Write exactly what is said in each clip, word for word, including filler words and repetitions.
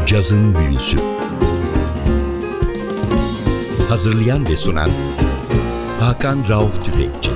Cazın Büyüsü. Hazırlayan ve sunan Hakan Rauf Tüfekçi.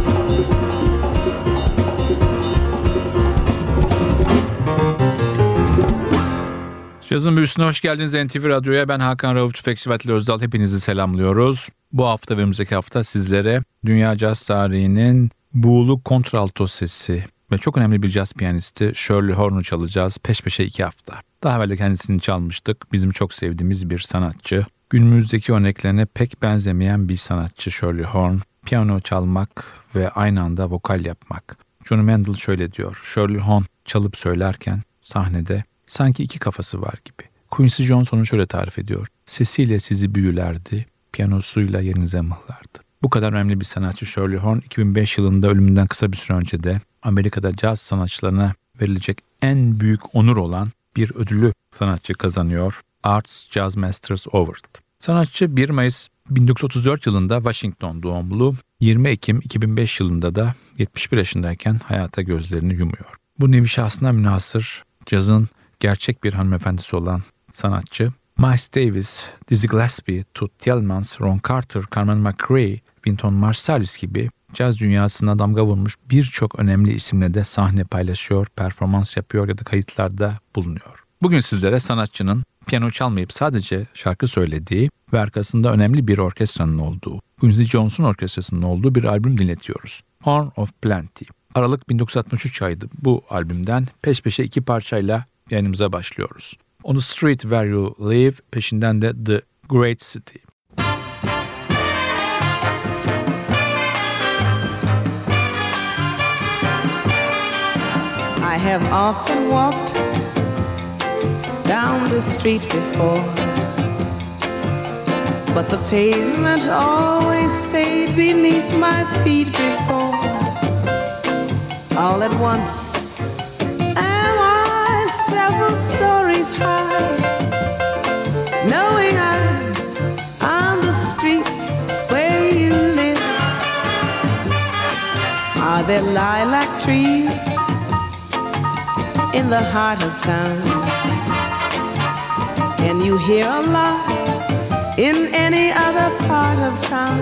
Cazın Büyüsü'ne hoş geldiniz N T V Radyo'ya. Ben Hakan Rauf Tüfekçi ve Atilla Özdal. Hepinizi selamlıyoruz. Bu hafta ve önümüzdeki hafta sizlere dünya caz tarihinin buğulu kontralto sesi ve çok önemli bir caz piyanisti Shirley Horn'u çalacağız peş peşe iki hafta. Daha evvel de kendisini çalmıştık. Bizim çok sevdiğimiz bir sanatçı. Günümüzdeki örneklerine pek benzemeyen bir sanatçı Shirley Horn. Piyano çalmak ve aynı anda vokal yapmak. Johnny Mandel şöyle diyor. Shirley Horn çalıp söylerken sahnede sanki iki kafası var gibi. Quincy Jones onu şöyle tarif ediyor. Sesiyle sizi büyülerdi, piyanosuyla yerinize mıhlardı. Bu kadar önemli bir sanatçı Shirley Horn iki bin beş yılında ölümünden kısa bir süre önce de Amerika'da caz sanatçılarına verilecek en büyük onur olan bir ödülü sanatçı kazanıyor. Arts Jazz Masters Award. Sanatçı bir Mayıs bin dokuz yüz otuz dört yılında Washington doğumlu, yirmi Ekim iki bin beş yılında da yetmiş bir yaşındayken hayata gözlerini yumuyor. Bu nevi şahsına münhasır cazın gerçek bir hanımefendisi olan sanatçı, Miles Davis, Dizzy Gillespie, Toots Thielemans, Ron Carter, Carmen McRae, Wynton Marsalis gibi caz dünyasına damga vurmuş birçok önemli isimle de sahne paylaşıyor, performans yapıyor ya da kayıtlarda bulunuyor. Bugün sizlere sanatçının piyano çalmayıp sadece şarkı söylediği ve arkasında önemli bir orkestranın olduğu, Quincy Jones'un orkestrasının olduğu bir albüm dinletiyoruz. Horn of Plenty. Aralık bin dokuz yüz altmış üç ayıydı bu albümden peş peşe iki parçayla yayınımıza başlıyoruz. On the Street Where You Live, peşinden de The Great City. I have often walked down the street before, but the pavement always stayed beneath my feet before. All at once several stories high, knowing I'm on the street where you live. Are there lilac trees in the heart of town? Can you hear a lot in any other part of town?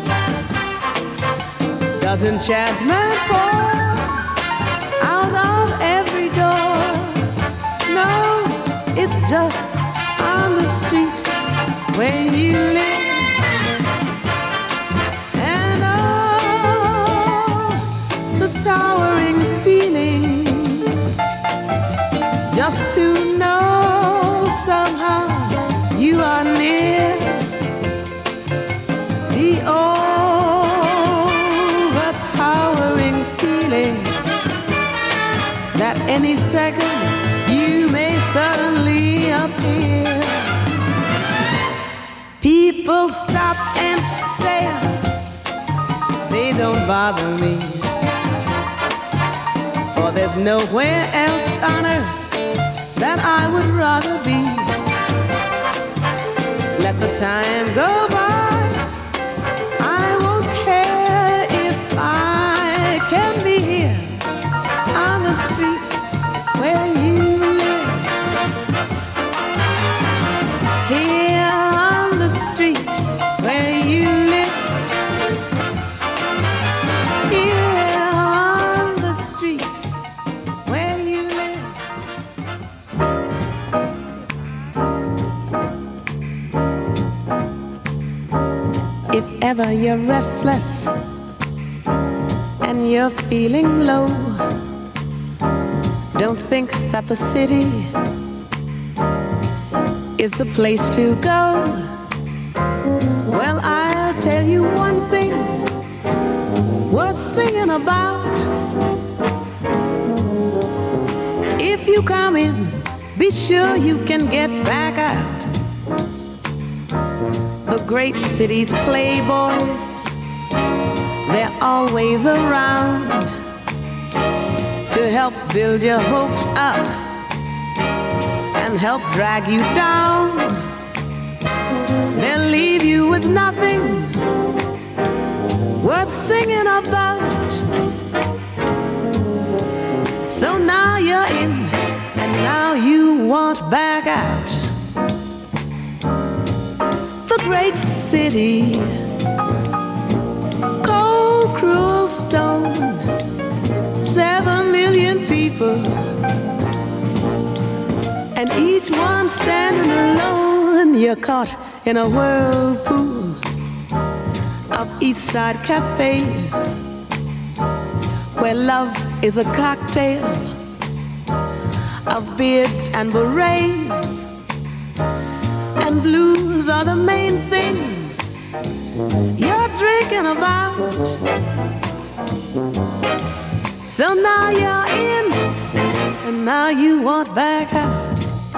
Does enchantment pour out of every door? No, it's just on the street where you live. And oh, the towering feeling, just to know somehow you are near. The overpowering feeling that any second you may suddenly appear. People stop and stare, they don't bother me, for there's nowhere else on earth that I would rather be. Let the time go by, I won't care if I can be here on the street where you where you live, here on the street where you live. If ever you're restless and you're feeling low, don't think that the city is the place to go. Well, I'll tell you one thing worth singing about. If you come in, be sure you can get back out. The great city's playboys, they're always around to help build your hopes up and help drag you down. They'll leave you with nothing worth singing about. So now you're in, and now you want back out. great city, cold, cruel stone, seven million people, and each one standing alone. You're caught in a whirlpool of East Side cafes, where love is a cocktail of beards and berets, and blues are the main things you're drinking about. So now you're in, and now you want back out.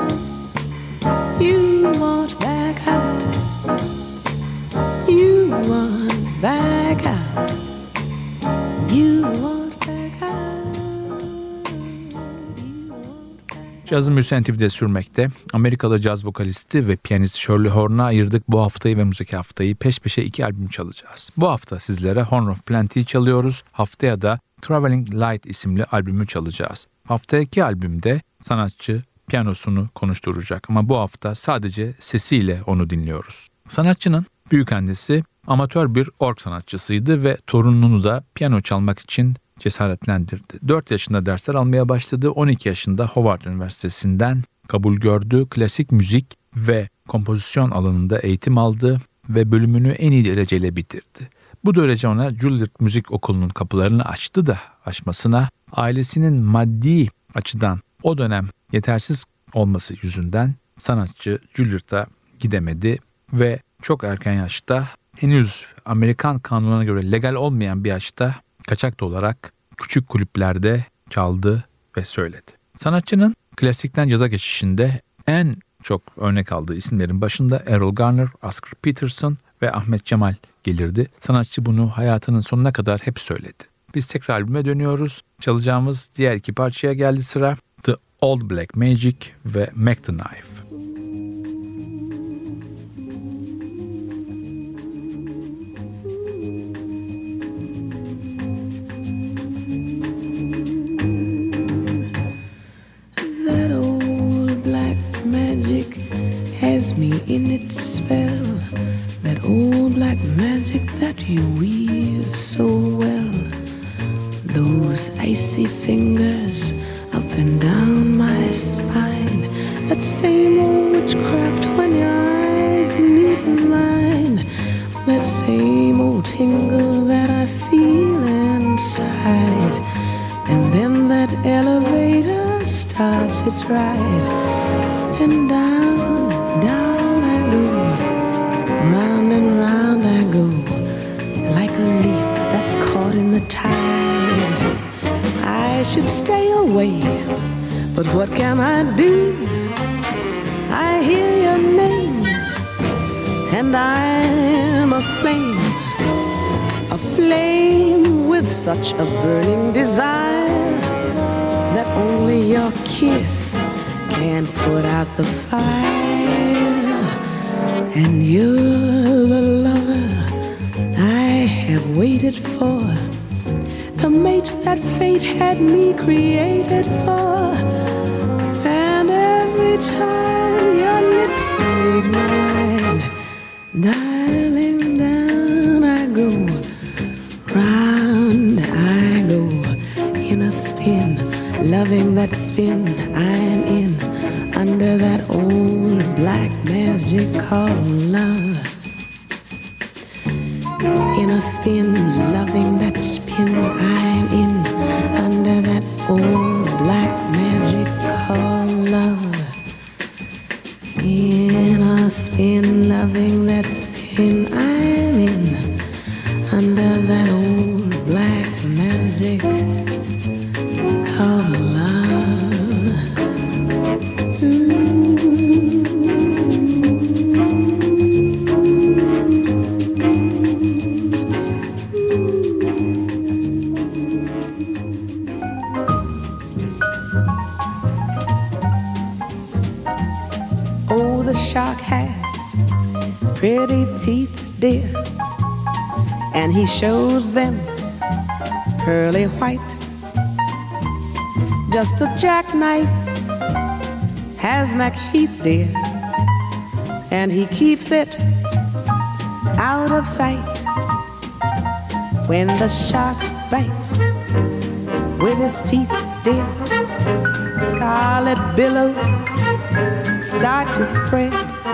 You want back out. You want back out. You want back out. You want back out. Cazın Müziği N T V'de sürmekte. Amerikalı caz vokalisti ve piyanist Shirley Horn'a ayırdık bu haftayı ve müzik haftayı. Peş peşe iki albüm çalacağız. Bu hafta sizlere Horn of Plenty'yi çalıyoruz. Haftaya da Traveling Light isimli albümü çalacağız. Haftaki albümde sanatçı piyanosunu konuşturacak ama bu hafta sadece sesiyle onu dinliyoruz. Sanatçının büyükannesi amatör bir org sanatçısıydı ve torununu da piyano çalmak için cesaretlendirdi. dört yaşında dersler almaya başladı. on iki yaşında Howard Üniversitesi'nden kabul gördü. Klasik müzik ve kompozisyon alanında eğitim aldı ve bölümünü en iyi dereceyle bitirdi. Bu derece ona Juilliard Müzik Okulu'nun kapılarını açtı da açmasına ailesinin maddi açıdan o dönem yetersiz olması yüzünden sanatçı Juilliard'a gidemedi ve çok erken yaşta, henüz Amerikan kanununa göre legal olmayan bir yaşta kaçak olarak küçük kulüplerde çaldı ve söyledi. Sanatçının klasikten caza geçişinde en çok örnek aldığı isimlerin başında Errol Garner, Oscar Peterson ve Ahmet Cemal gelirdi. Sanatçı bunu hayatının sonuna kadar hep söyledi. Biz tekrar albüme dönüyoruz. Çalacağımız diğer iki parçaya geldi sıra. The Old Black Magic ve Mac the Knife. That old black magic has me in its spell. That old black magic that you weave so well. Those icy fingers up and down my spine. That same old witchcraft when your eyes meet mine. That same old tingle that I feel inside. And then that elevator starts its ride. And down, down I go. Round and round I go. Like a leaf that's caught in the tide. I should stay away, but what can I do? I hear your name, and I'm a flame, a flame with such a burning desire that only your kiss can put out the fire. And you're the lover I have waited for, the mate that fate had me created for. And every time your lips meet mine, darling, down I go, round I go, in a spin, loving that spin I'm in, under that old black magic called love. In a spin, loving that spin I'm in, under that old black magic called love. In a spin, loving that spin I'm in, under that old black magic called love. Ooh. The shark has pretty teeth, dear, and he shows them pearly white. Just a jackknife has MacHeath, dear, and he keeps it of sight when the shark bites with his teeth, dear. Scarlet billows start to spread.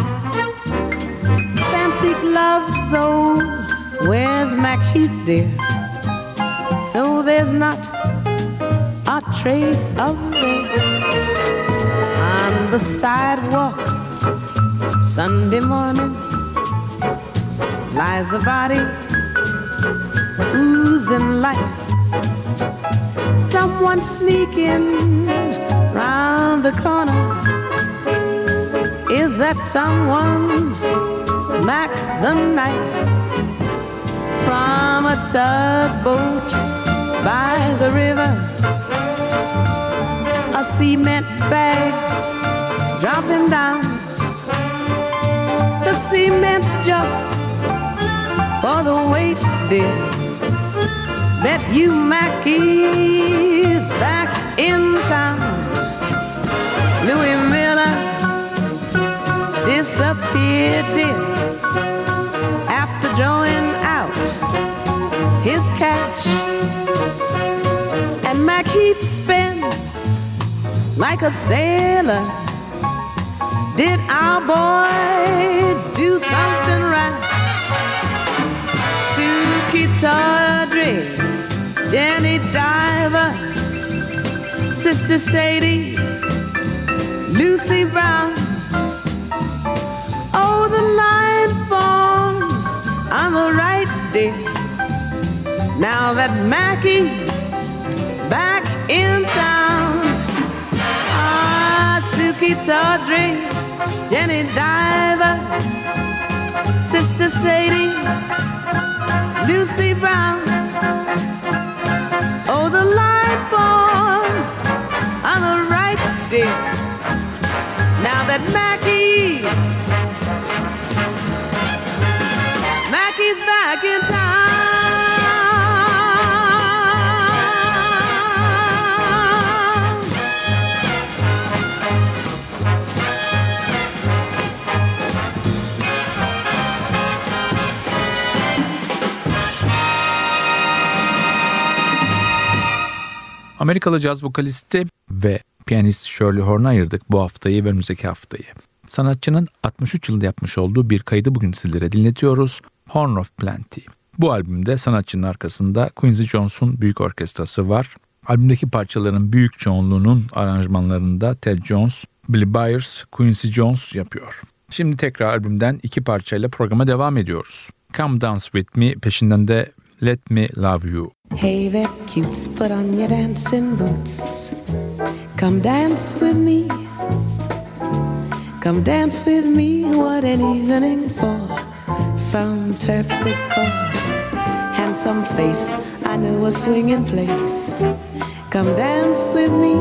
Fancy gloves, though, where's Macheath, dear? So there's not a trace of red. On the sidewalk Sunday morning lies a body oozing life. Someone sneaking round the corner. Is that someone? Mac the knife from a tugboat by the river. A cement bag's dropping down. The cement's just for the weight, dear. Bet you Mackie's back in town. Louis Miller disappeared, dear, after drawing out his cash. And Macheath spends like a sailor. Did our boy do something right? Suki Tawdry, Jenny Diver, Sister Sadie, Lucy Brown. Oh, the line forms on the right, dear. Now that Mackie's back in town. Ah, Suki Tawdry, Jenny Diver, Sister Sadie, Lucy Brown. Oh, the line forms on the right, dear. Now that Mackie's, Mackie's back in town. Amerikalı caz vokalisti ve piyanist Shirley Horn'a ayırdık bu haftayı ve önümüzdeki haftayı. Sanatçının altmış üç yılında yapmış olduğu bir kaydı bugün sizlere dinletiyoruz. Horn of Plenty. Bu albümde sanatçının arkasında Quincy Jones'un büyük orkestrası var. Albümdeki parçaların büyük çoğunluğunun aranjmanlarında Ted Jones, Billy Byers, Quincy Jones yapıyor. Şimdi tekrar albümden iki parçayla programa devam ediyoruz. Come Dance With Me, peşinden de Let Me Love You. Hey there, cutes, put on your dancing boots. Come dance with me. Come dance with me. What an evening for some terpsichore. Handsome face, I know a swinging place. Come dance with me.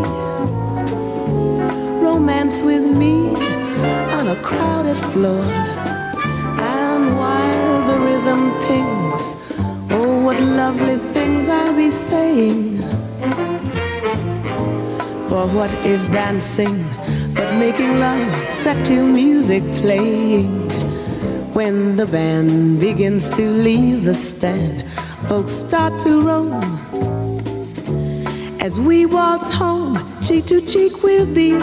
Romance with me on a crowded floor. And while the rhythm pings, oh, what lovely things I'll be saying. For what is dancing but making love set to music playing? When the band begins to leave the stand, folks start to roam. As we waltz home, cheek to cheek we'll be.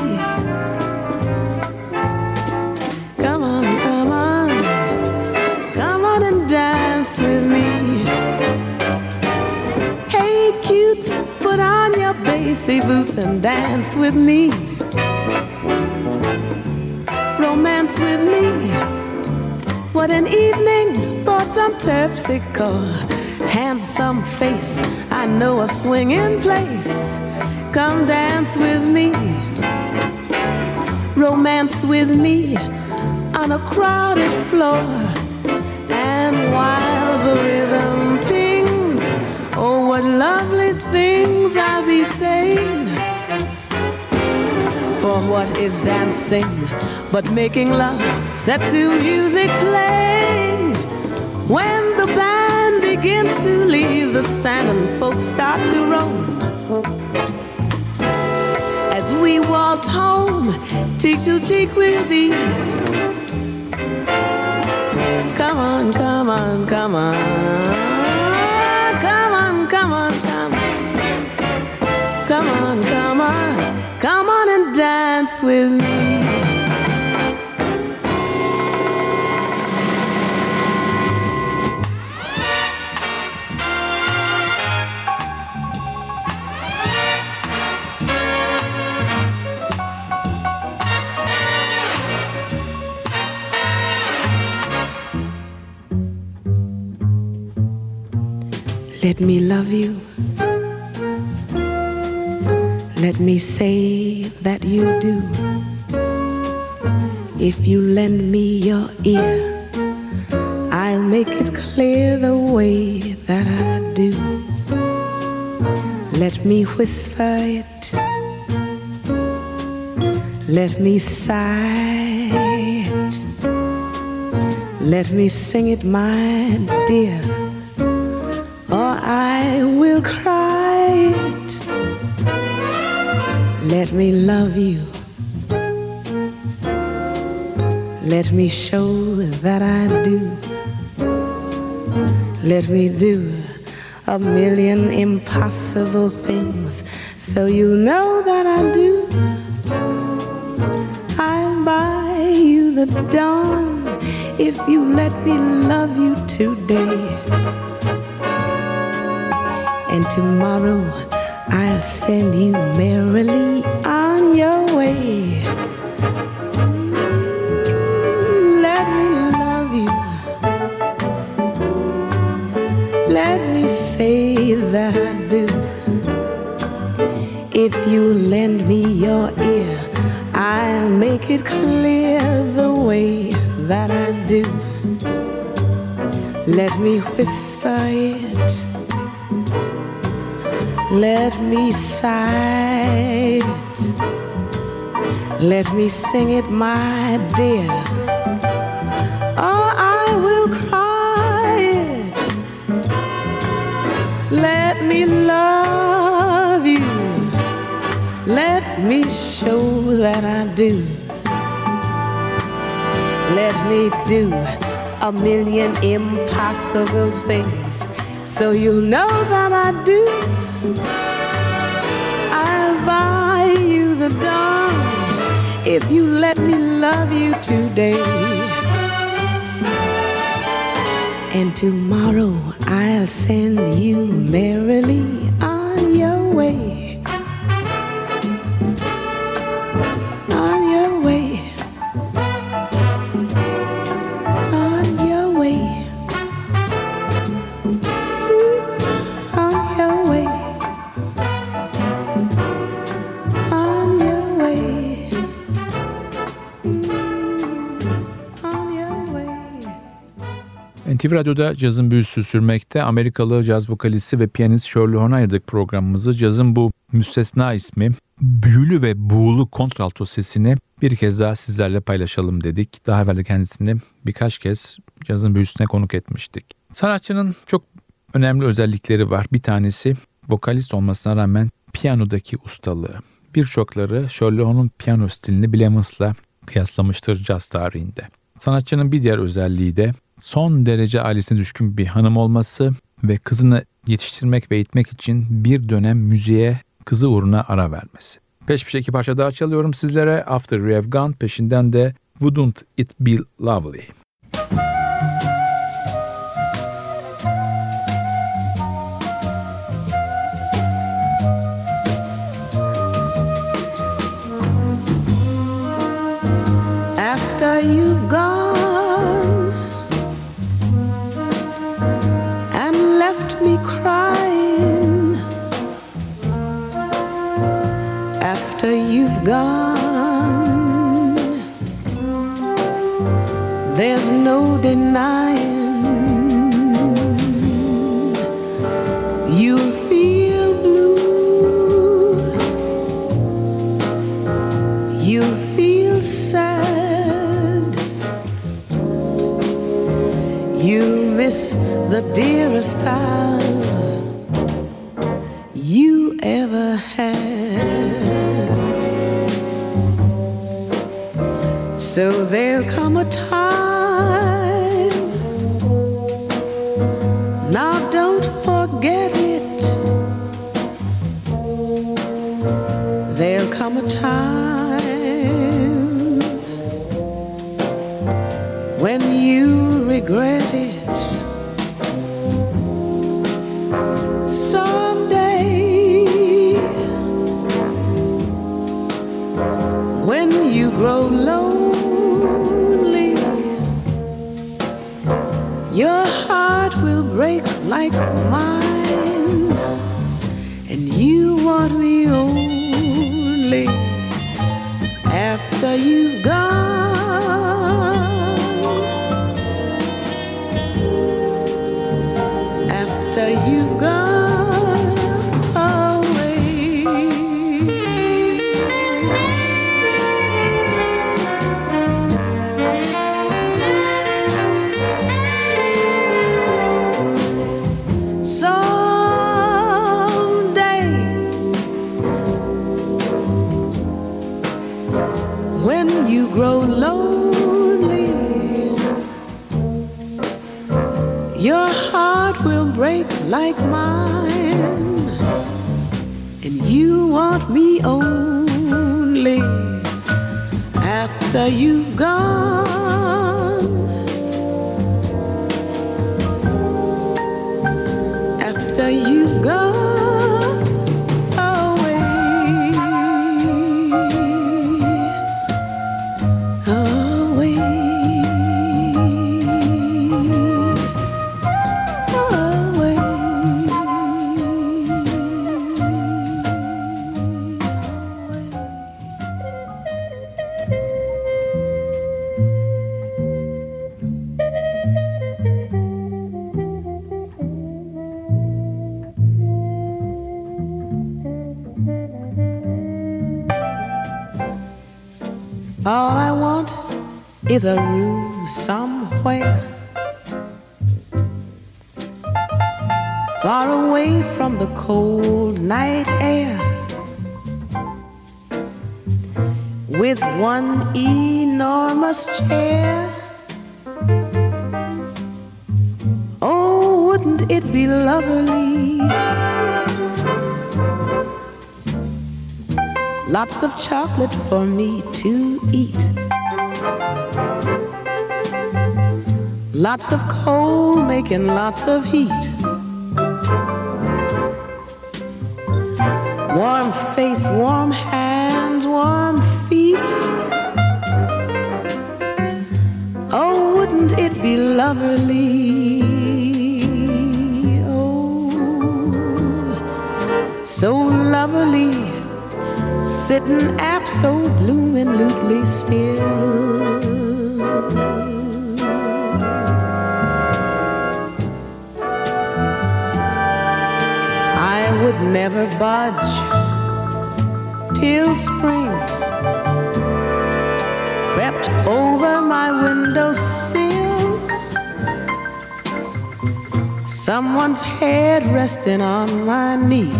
Come on, come on, come on and dance with me. Hey cutes, put on your bassy boots and dance with me. Romance with me. What an evening for some terpsichore. Handsome face, I know a swinging place. Come dance with me. Romance with me on a crowded floor. And while the rhythm pings, oh, what lovely things I'll be saying. For what is dancing but making love set to music playing? When the band begins to leave the stand and folks start to roam. As we waltz home, cheek to cheek we'll be. Come come on, come on, come on. Come on, come on, come on. Come on, come on, come on and dance with me. Let me love you. Let me say that you do. If you lend me your ear, I'll make it clear the way that I do. Let me whisper it. Let me sigh it. Let me sing it, my dear, or I will cry it. Let me love you. Let me show that I do. Let me do a million impossible things so you know that I do. I'll buy you the dawn if you let me love you today. And tomorrow I'll send you merrily on your way. Let me love you. Let me say that I do. If you lend me your ear, I'll make it clear the way that I do. Let me whisper it. Let me sigh it. Let me sing it, my dear, or I will cry it. Let me love you. Let me show that I do. Let me do a million impossible things so you'll know that I do. I'll buy you the dawn if you let me love you today. And tomorrow I'll send you merrily on your way. On your way. On your way. On your way. N T V Radyo'da cazın büyüsü sürmekte. Amerikalı caz vokalisti ve piyanist Shirley Horn'a ayırdık programımızı. Cazın bu müstesna ismi, büyülü ve buğulu kontralto sesini bir kez daha sizlerle paylaşalım dedik. Daha evvel de kendisini birkaç kez cazın büyüsüne konuk etmiştik. Sanatçının çok önemli özellikleri var. Bir tanesi vokalist olmasına rağmen piyanodaki ustalığı. Birçokları Shirley Horn'un piyano stilini Bill Evans'la kıyaslamıştır caz tarihinde. Sanatçının bir diğer özelliği de son derece ailesine düşkün bir hanım olması ve kızını yetiştirmek ve eğitmek için bir dönem müziğe kızı uğruna ara vermesi. Peş peşe iki parça daha çalıyorum sizlere. After You Have Gone, peşinden de Wouldn't It Be Lovely. After you've gone and left me crying, after you've gone, there's no denying you'll feel blue, you'll feel sad. You miss the dearest pal you ever had. So there'll come a time time when you regret it. Someday when you grow lonely, your heart will break like mine, and you want me only after you've gone, after you've gone away. Someday when you grow lonely, your heart will break like mine, and you want me only after you've gone, after you've gone away, away, away. All I want is a room somewhere far away from the cold night air, with one enormous chair. Oh, wouldn't it be lovely? Lots of chocolate for me to eat, lots of coal making lots of heat, warm face, warm hands, warm feet. Oh, wouldn't it be lovely? Oh, so lovely, sitting absolutely still. I would never budge till spring crept over my windowsill, someone's head resting on my knee,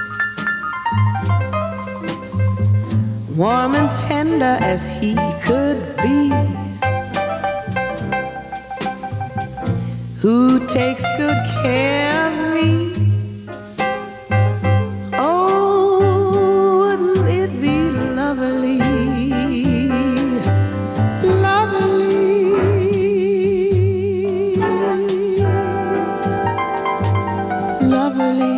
warm and tender as he could be, who takes good care of me. Oh, wouldn't it be lovely, lovely, lovely.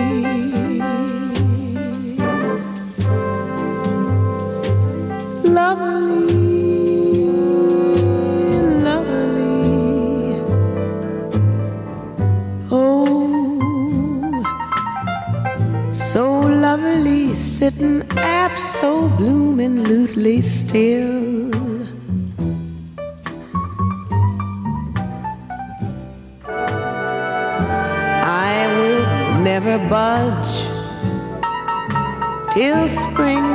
Lovely, lovely. Oh, so lovely, sitting absolutely still. I would never budge till spring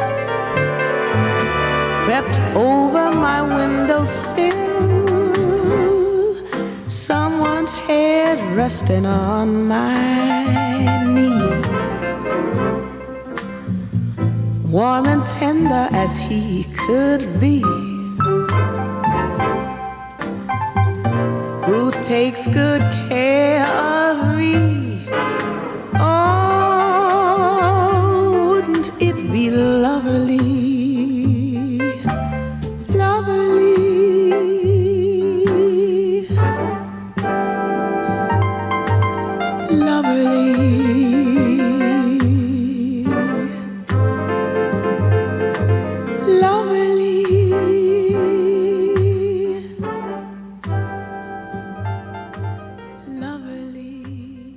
crept over my windowsill, someone's head resting on my knee, warm and tender as he could be, who takes good care of me. Oh, wouldn't it be lovely?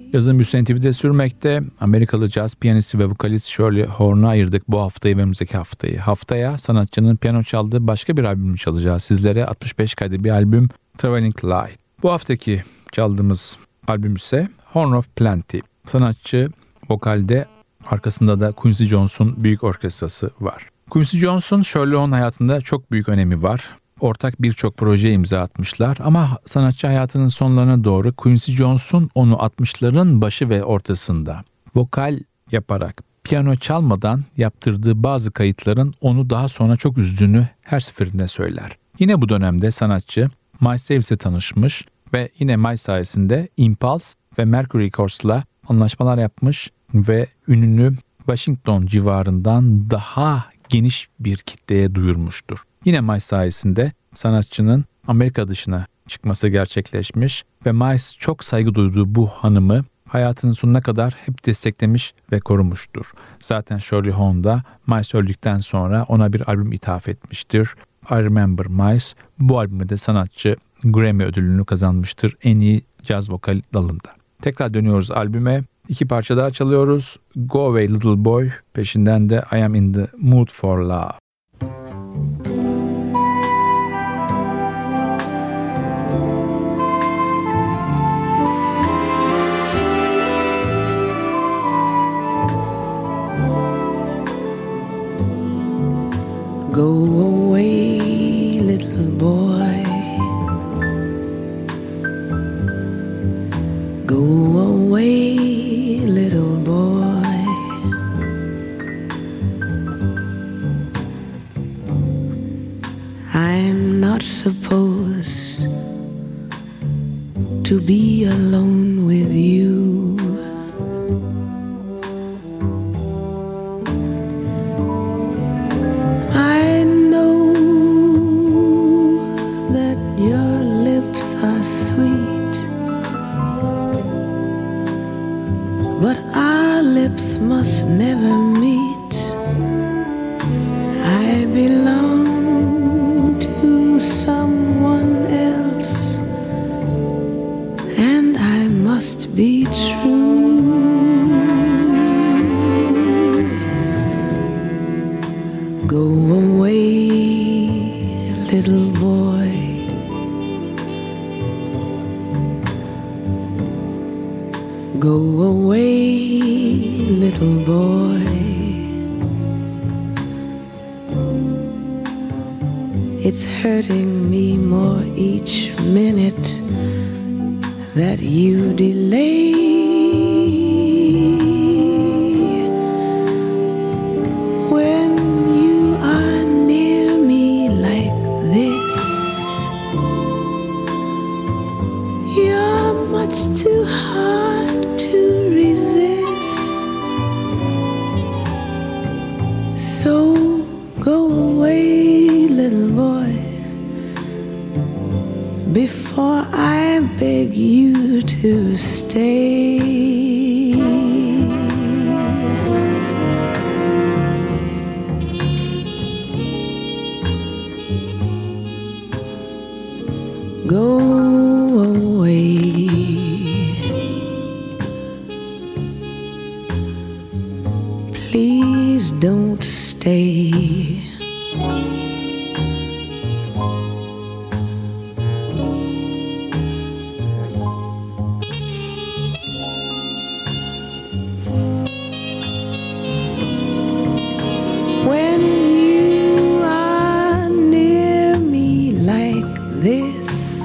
Yazın büyüsü N T V'de sürmekte. Amerikalı caz piyanisti ve vokalist Shirley Horn'a ayırdık bu haftayı ve önümüzdeki haftayı. Haftaya sanatçının piyano çaldığı başka bir albümü çalacağız sizlere. altmış beş kaydı bir albüm, Traveling Light. Bu haftaki çaldığımız albüm ise Horn of Plenty. Sanatçı vokalde, arkasında da Quincy Jones'un büyük orkestrası var. Quincy Jones'un Shirley Horn hayatında çok büyük önemi var. Ortak birçok projeye imza atmışlar ama sanatçı hayatının sonlarına doğru Quincy Jones'un onu altmışların başı ve ortasında vokal yaparak, piyano çalmadan yaptırdığı bazı kayıtların onu daha sonra çok üzdüğünü her seferinde söyler. Yine bu dönemde sanatçı Miles Davis'e tanışmış ve yine Miles sayesinde Impulse ve Mercury Records'la anlaşmalar yapmış ve ününü Washington civarından daha geniş bir kitleye duyurmuştur. Yine Miles sayesinde sanatçının Amerika dışına çıkması gerçekleşmiş ve Miles çok saygı duyduğu bu hanımı hayatının sonuna kadar hep desteklemiş ve korumuştur. Zaten Shirley Horn da Miles öldükten sonra ona bir albüm ithaf etmiştir. I Remember Miles. Bu albümde de sanatçı Grammy ödülünü kazanmıştır en iyi caz vokal dalında. Tekrar dönüyoruz albüme. İki parça daha çalıyoruz. Go Away Little Boy, peşinden de I Am in the Mood for Love. Go away, little boy. Go away, little boy. I'm not supposed to be alone with you. Must never meet. I belong to someone else, and I must be true. Go away, little boy. Go away, little boy. It's hurting me more each minute that you delay. When you are near me like this, you're much too hard to resist. So go away, little boy, before I beg you to stay. Go away. Please don't stay. When you are near me like this,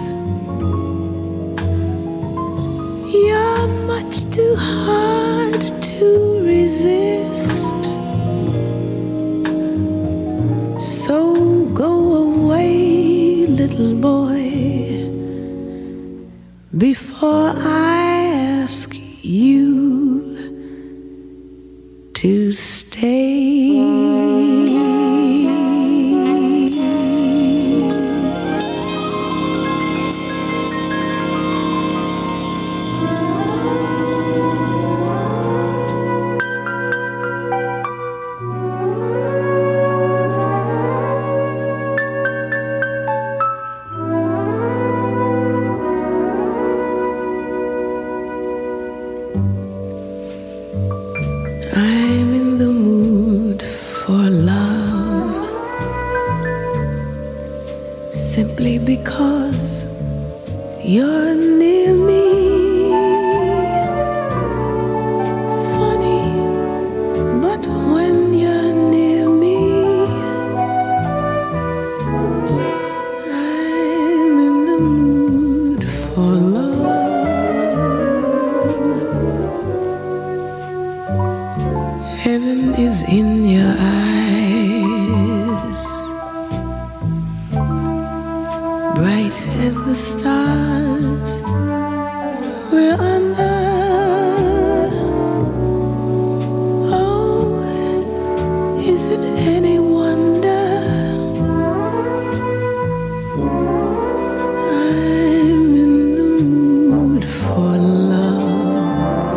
you're much too hard to resist. So go away, little boy, before I ask you to stay. in your eyes, bright as the stars we're under. Oh, is it any wonder I'm in the mood for love?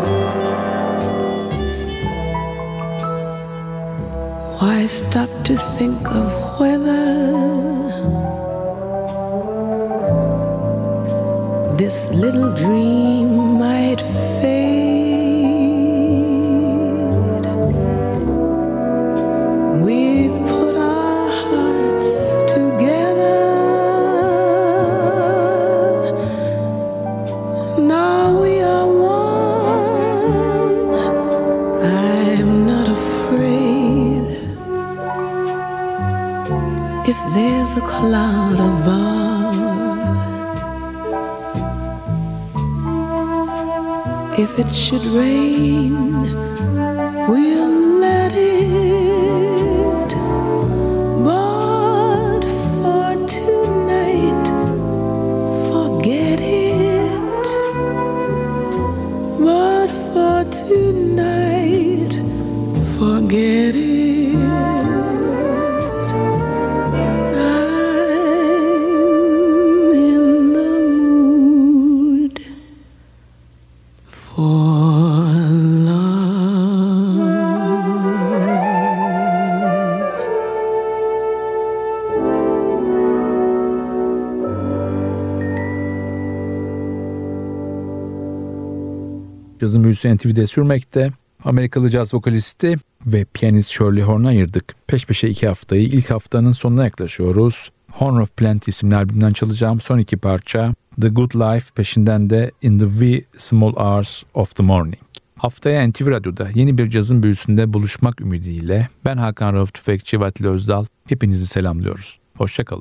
Why stop to think of whether this little dream might fade? We've put our hearts together, now we are one. I'm not afraid if there's a cloud above, if it should rain, we'll let it. But for tonight, forget it. But for tonight, forget it. I'm in the mood for Cazın büyüsü N T V'de sürmekte. Amerikalı caz vokalisti ve piyanist Shirley Horn'u ayırdık. Peş peşe iki haftayı, ilk haftanın sonuna yaklaşıyoruz. Horn of Plenty isimli albümden çalacağım son iki parça The Good Life, peşinden de In the Wee Small Hours of the Morning. Haftaya N T V Radyo'da yeni bir cazın büyüsünde buluşmak ümidiyle ben Hakan Rauf Tüfekçi ve Atilla Özdal hepinizi selamlıyoruz. Hoşça kalın.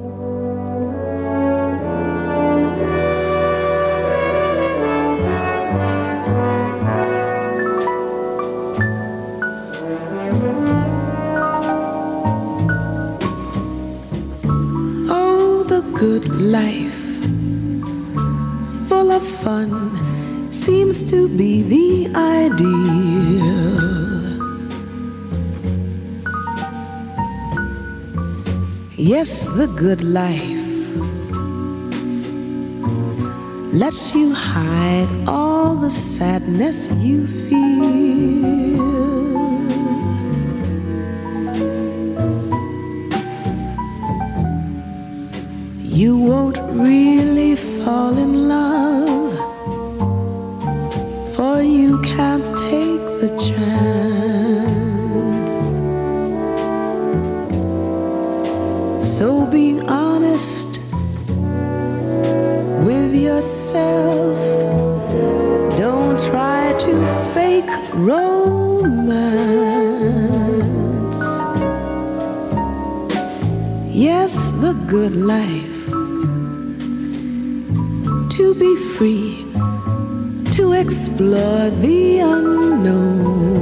Good life, full of fun, seems to be the ideal. Yes, the good life lets you hide all the sadness you feel. You won't really fall in love, for you can't take the chance. So be honest with yourself. Don't try to fake romance. Yes, the good life, to be free, to explore the unknown.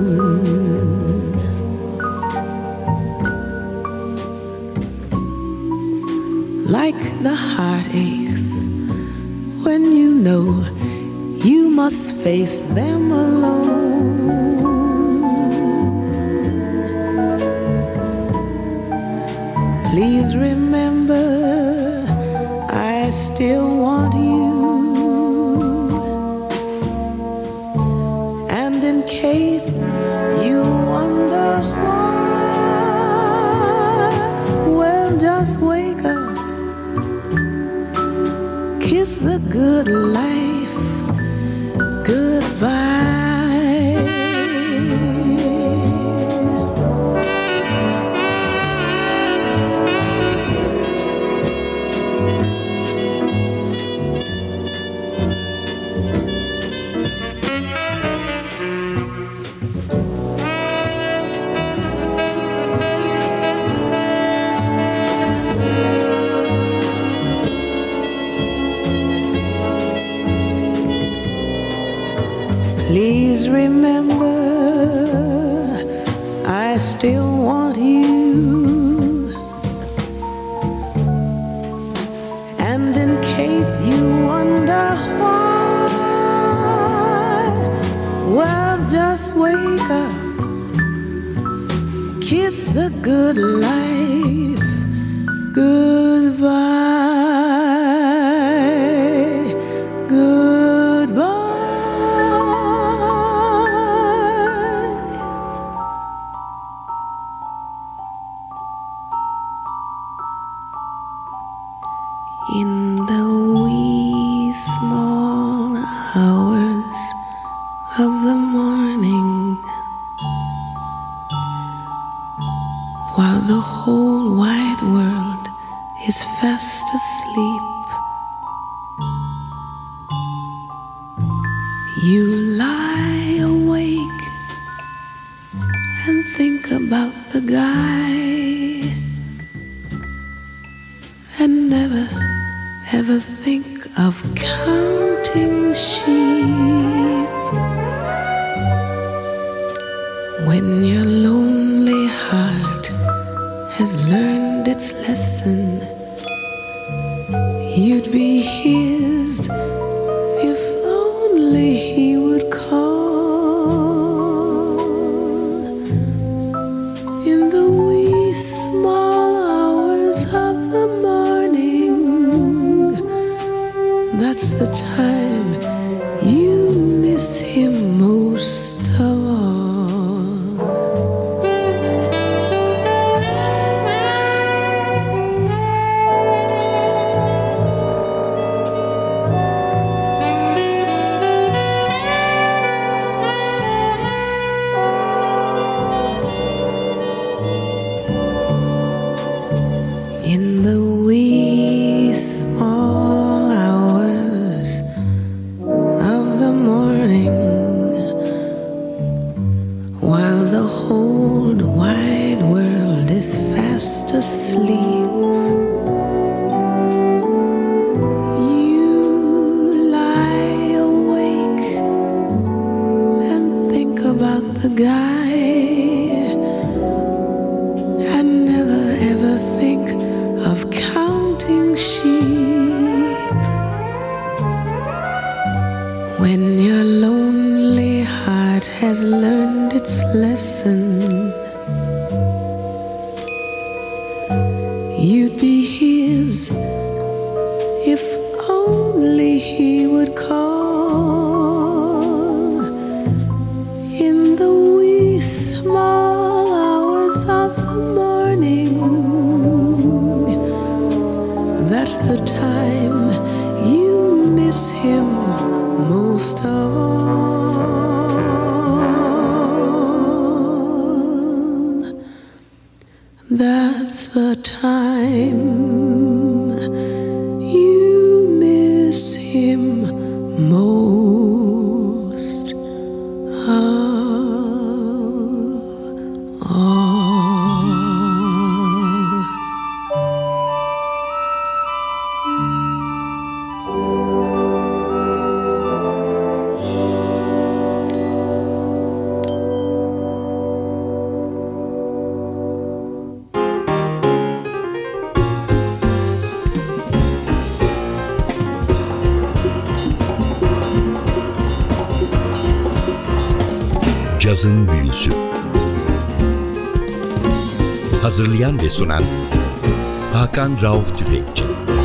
Like the heartaches when you know you must face them alone. Please remember, I still want you. And in case you wonder why, well, just wake up, kiss the good life goodbye. Please remember, still want you. And in case you wonder why, well, just wake up, kiss the good life goodbye. In the wee small hours of the morning, while the whole wide world is fast asleep, you lie awake and think about the guy, and never ever think of counting sheep. When your lonely heart has learned its lesson, you'd be his if only he would call. In the wee small hours of the morning, that's the time you miss him most of all. In the wee small hours of the morning, while the whole wide world is fast asleep, you lie awake and think about the guy, and never ever think of counting sheep. When your lonely heart has learned its lesson, you'd be his if only he would call. In the wee small hours of the morning, that's the time you miss him most of all. That's the time you miss him most of all. Cazın Büyüsü. Hazırlayan ve sunan Hakan Rauf Tüfekçi.